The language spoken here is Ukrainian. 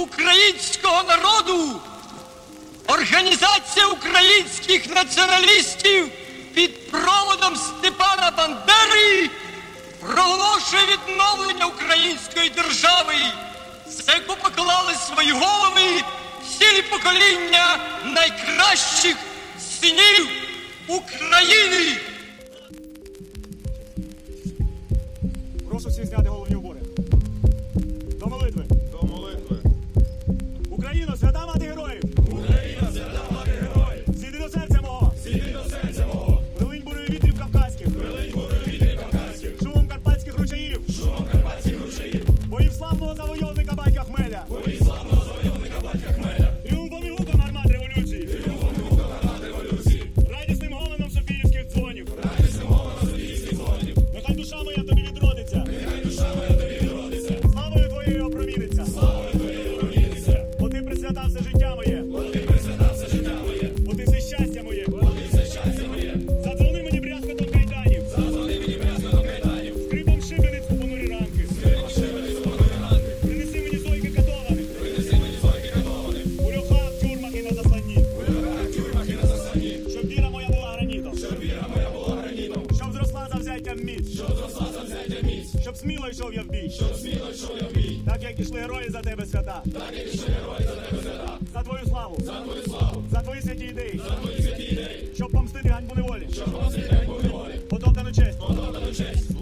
українського народу Організація українських націоналістів під проводом Степана Бандери проголошує відновлення української держави, за яку поклали свої голови цілі покоління найкращих синів України. Прошу всіх зняти головні убори. До молитви. До молитви. Україно, свята мати героїв! Україна, свята мати героїв! Зійди до серця мого! Зійди до серця мого! Прилинь бурою вітрів кавказьких! Прилинь бурою вітрів кавказьких! Шумом карпатських ручаїв! Шумом карпатських ручаїв! Боїв славного завойовника батька Хмеля! Боїв славного завойовника батька Хмеля! Тріумфом і гуком гармат революції! Тріумфом і гуком гармат революції! Радісним гомоном софіївських дзвонів! Радісним гомоном софіївських дзвонів! Нехай душа моя тобі відродиться! Нехай душа моя тобі відродиться! Славою твоєю опроміниться! Славою твоєю проміниться! Бо ти присвятав все життя моє! Бо ти присвятав все життя моє! Бо ти все щастя моє! Бо ти все щастя моє! Задзвони мені брязкотом кайданів! Задзвони мені брязкотом кайданів! Скрипом шибениць у понурі ранки! Скрипом шибениць у понурі ранки! Принеси мені зойки катованих! Принеси мені зойки катованих! У льохах, тюрмах і на засланні! У льохах, тюрмах і на засланні! Щоб віра моя була гранітом! Щоб віра моя була гранітом! Щоб зросла завзяттям міць! Щоб зросла завзяття міць! Щоб сміло йшов я в бій! Щоб сміло йшов я в бій! Так як ішли герої за тебе свята! Так як ішли герої за тебе свята! За твою славу! За твою славу! За твої святі ідеї! За твої святі ідеї! Щоб помстити ганьбу неволі! Щоб помстити ганьбу неволі! Потоптану честь! Потоптану честь!